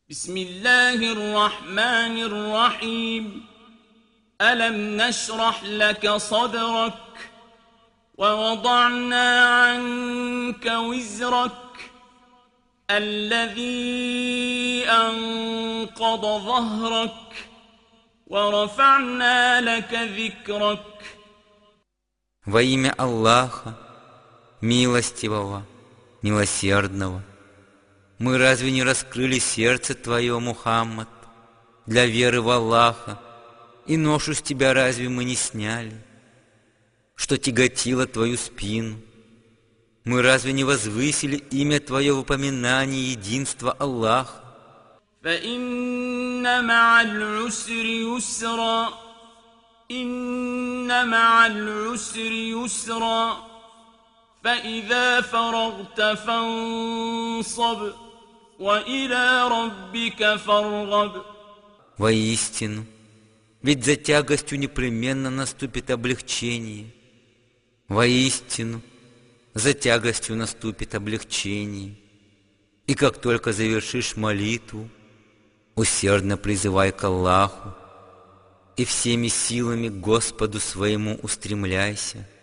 بسم الله الرحمن الرحيم ألم نشرح لك صدرك ووضعنا عنك وزرك الذي أنقض ظهرك ورفعنا لك ذكرك. Во имя Аллаха, милостивого, милосердного, мы разве не раскрыли сердце твое, Мухаммад, для веры в Аллаха, и ношу с тебя разве мы не сняли, что тяготило твою спину? Мы разве не возвысили имя твое в упоминании единства Аллаха? فإن مع العسر يسرا إن مع العسر يسرا فإذا فرغت فانصب وإلى ربك فارغب. Воистину, ведь за тягостью непременно наступит облегчение. Воистину, за тягостью наступит облегчение. И как только завершишь молитву, усердно призывай к Аллаху и всеми силами к Господу своему устремляйся.